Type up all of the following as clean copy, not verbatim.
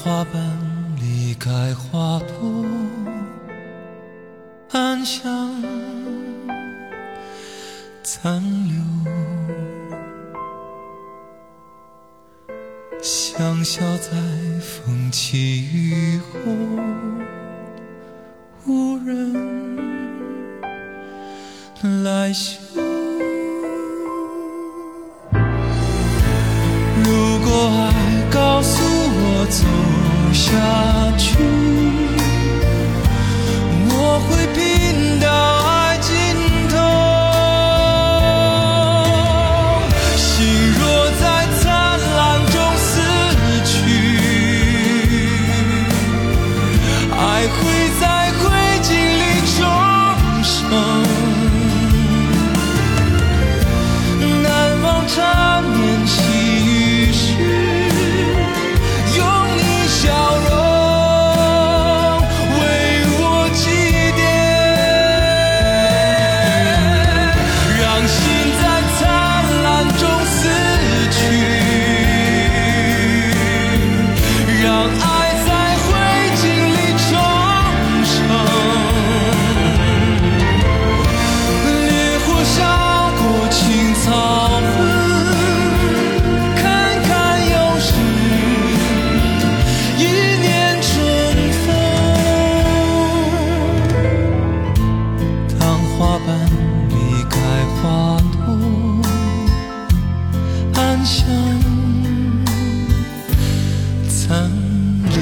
花瓣离开花朵，暗香残留，香消在风起雨后，无人来嗅。如果爱告诉我走下去，我会拼到爱尽头。心若在灿烂中死去，爱会在灰烬里重生。难忘缠绵细雨时，用你笑容为我祭奠，让心在灿烂中死去，让爱在灰烬里重生。烈火烧过青草痕，看看又是一年春风。当花瓣离开花朵，暗香残留。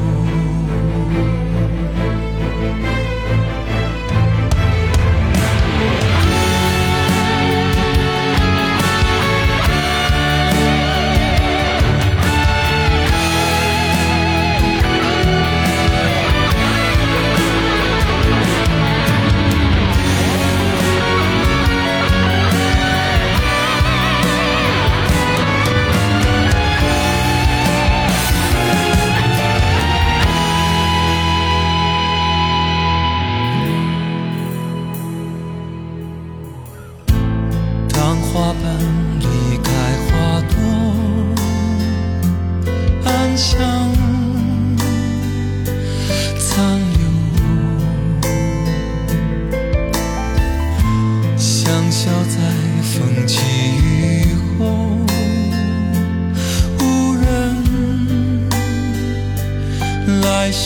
当花瓣离开花朵，暗香残留，香消在风起雨后，无人来嗅。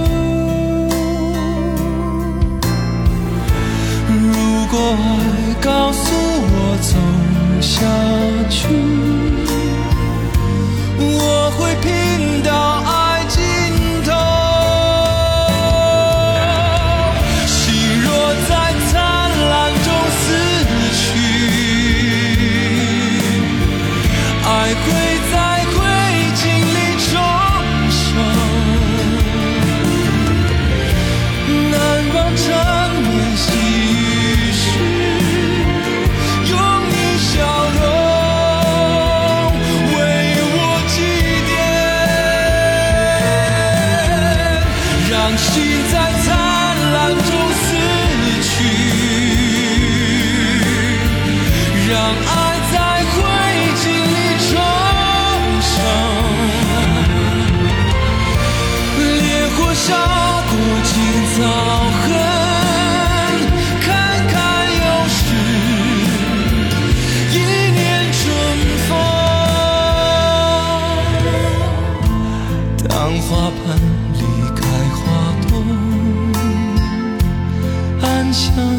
如果爱告诉我走下去，我会拼到爱尽头。心若在灿烂中死去，爱会在灰烬里重生。难忘缠绵细雨时，用你笑容为我祭奠，让心在灿烂中死去，让爱在灰烬里重生。烈火烧过青草痕，看看又是一年春风。当花瓣离开花朵，暗香